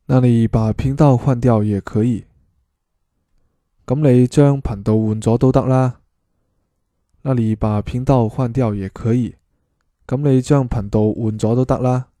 那你把頻道換掉也可以。咁你將頻道換咗都得啦。那你把頻道換掉也可以。咁你將頻道換咗都得啦。